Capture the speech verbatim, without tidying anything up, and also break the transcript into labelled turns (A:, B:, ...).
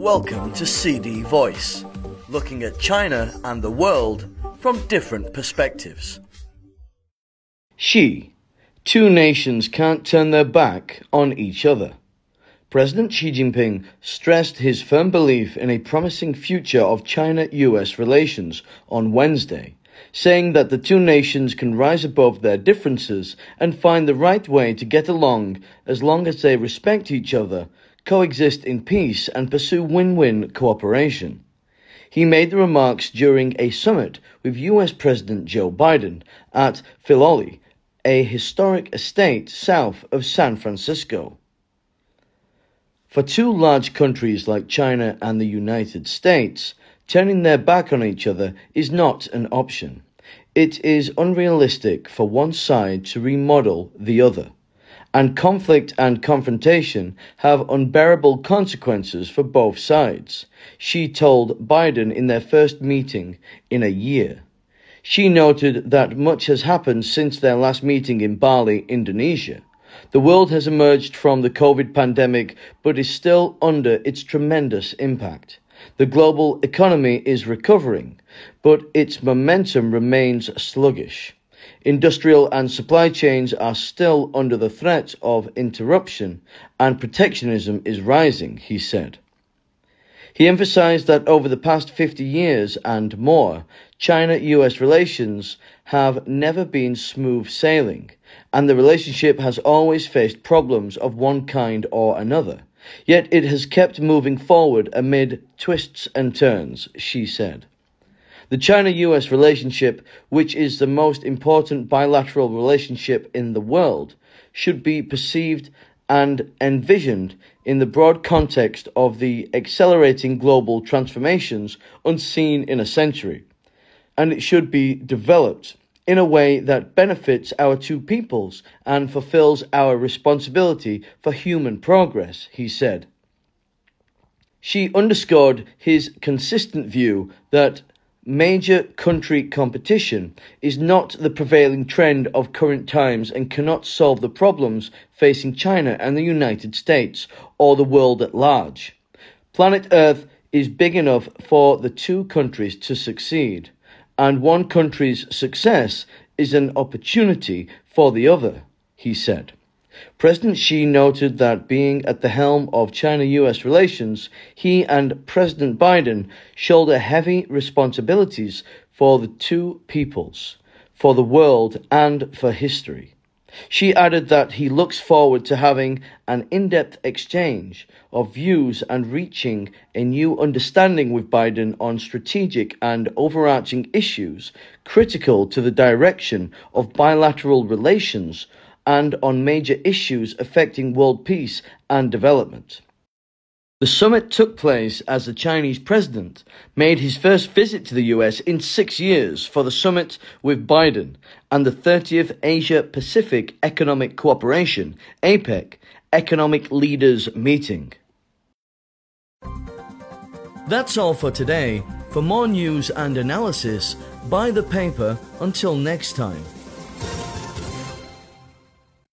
A: Welcome to C D Voice, looking at China and the world from different perspectives.
B: Xi. Two nations can't turn their back on each other. President Xi Jinping stressed his firm belief in a promising future of China U S relations on Wednesday, saying that the two nations can rise above their differences and find the right way to get along as long as they respect each other, coexist in peace and pursue win-win cooperation. He made the remarks during a summit with U S President Joe Biden at Filoli, a historic estate south of San Francisco. For two large countries like China and the United States, turning their back on each other is not an option. It is unrealistic for one side to remodel the other, and conflict and confrontation have unbearable consequences for both sides, Xi told Biden in their first meeting in a year. Xi noted that much has happened since their last meeting in Bali, Indonesia. The world has emerged from the COVID pandemic, but is still under its tremendous impact. The global economy is recovering, but its momentum remains sluggish. Industrial and supply chains are still under the threat of interruption, and protectionism is rising, he said. He emphasized that over the past fifty years and more, China U S relations have never been smooth sailing, and the relationship has always faced problems of one kind or another. Yet it has kept moving forward amid twists and turns, Xi said. The China U S relationship, which is the most important bilateral relationship in the world, should be perceived and envisioned in the broad context of the accelerating global transformations unseen in a century, and it should be developed in a way that benefits our two peoples and fulfills our responsibility for human progress, he said. Xi underscored his consistent view that major country competition is not the prevailing trend of current times and cannot solve the problems facing China and the United States or the world at large. Planet Earth is big enough for the two countries to succeed, and one country's success is an opportunity for the other, he said. President Xi noted that being at the helm of China U S relations, he and President Biden shoulder heavy responsibilities for the two peoples, for the world, and for history. Xi added that he looks forward to having an in-depth exchange of views and reaching a new understanding with Biden on strategic and overarching issues critical to the direction of bilateral relations and on major issues affecting world peace and development. The summit took place as the Chinese president made his first visit to the U S in six years for the summit with Biden and the thirtieth Asia-Pacific Economic Cooperation, APEC, Economic Leaders Meeting.
A: That's all for today. For more news and analysis, buy the paper. Until next time.